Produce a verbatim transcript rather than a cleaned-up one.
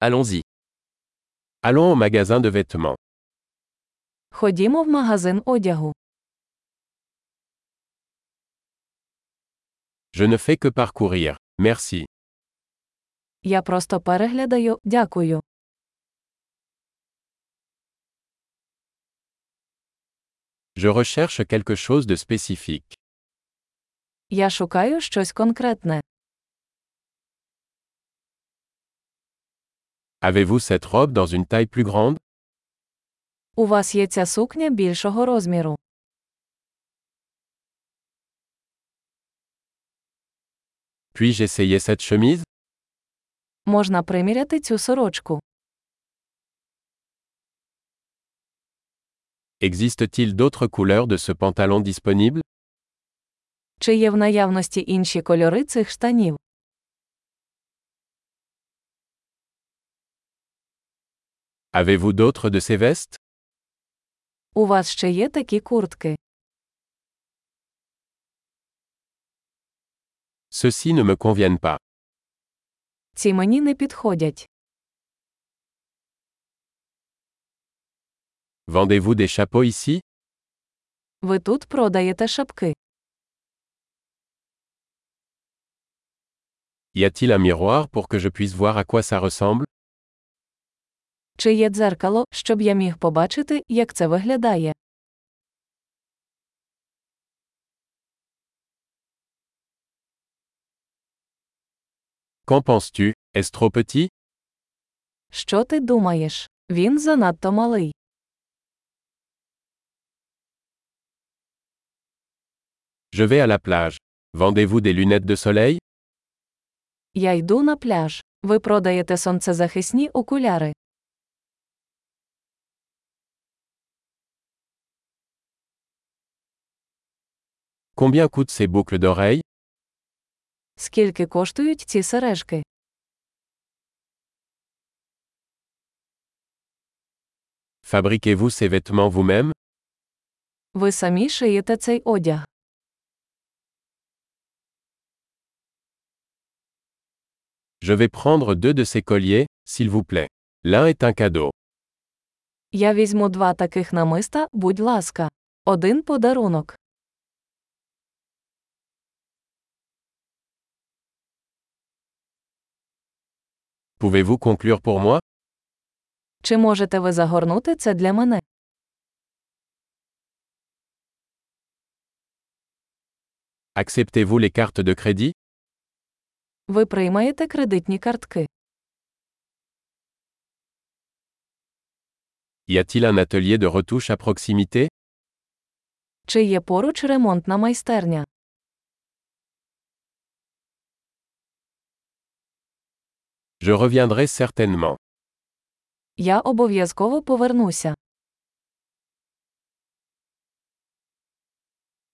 Allons-y. Allons au magasin de vêtements. Ходімо в магазин одягу. Je ne fais que parcourir. Merci. Я просто переглядаю, дякую. Je recherche quelque chose de spécifique. Я шукаю щось конкретне. Avez-vous cette robe dans une taille plus grande? У вас є ця сукня більшого розміру. Puis-je essayer cette chemise? Можна приміряти цю сорочку. Existe-t-il d'autres couleurs de ce pantalon disponible? Чи є в наявності інші кольори цих штанів? Avez-vous d'autres de ces vestes? У вас ще є такі куртки. Ceux-ci ne me conviennent pas. Ці мені не підходять. Vendez-vous des chapeaux ici? Ви тут продаєте шапки. Y a-t-il un miroir pour que je puisse voir à quoi ça ressemble? Чи є дзеркало, щоб я міг побачити, як це виглядає? Qu'en penses-tu? Est-ce trop petit? Що ти думаєш? Він занадто малий. Je vais à la plage. Vendez-vous des lunettes de soleil? Я йду на пляж. Ви продаєте сонцезахисні окуляри. Combien coûtent ces boucles d'oreilles? Скільки коштують ці сережки? Fabriquez-vous ces vêtements vous-même? Ви самі шиєте цей одяг. Je vais prendre deux de ces colliers, s'il vous plaît. L'un est un cadeau. Я візьму два таких намиста, будь ласка. Один подарунок. Pouvez-vous conclure pour moi? Чи можете ви загорнути це для мене? Acceptez-vous les cartes de crédit? Ви приймаєте кредитні картки. Y a-t-il un atelier de retouche à proximité? Чи є поруч ремонтна майстерня? Je reviendrai certainement. Я обов'язково повернуся.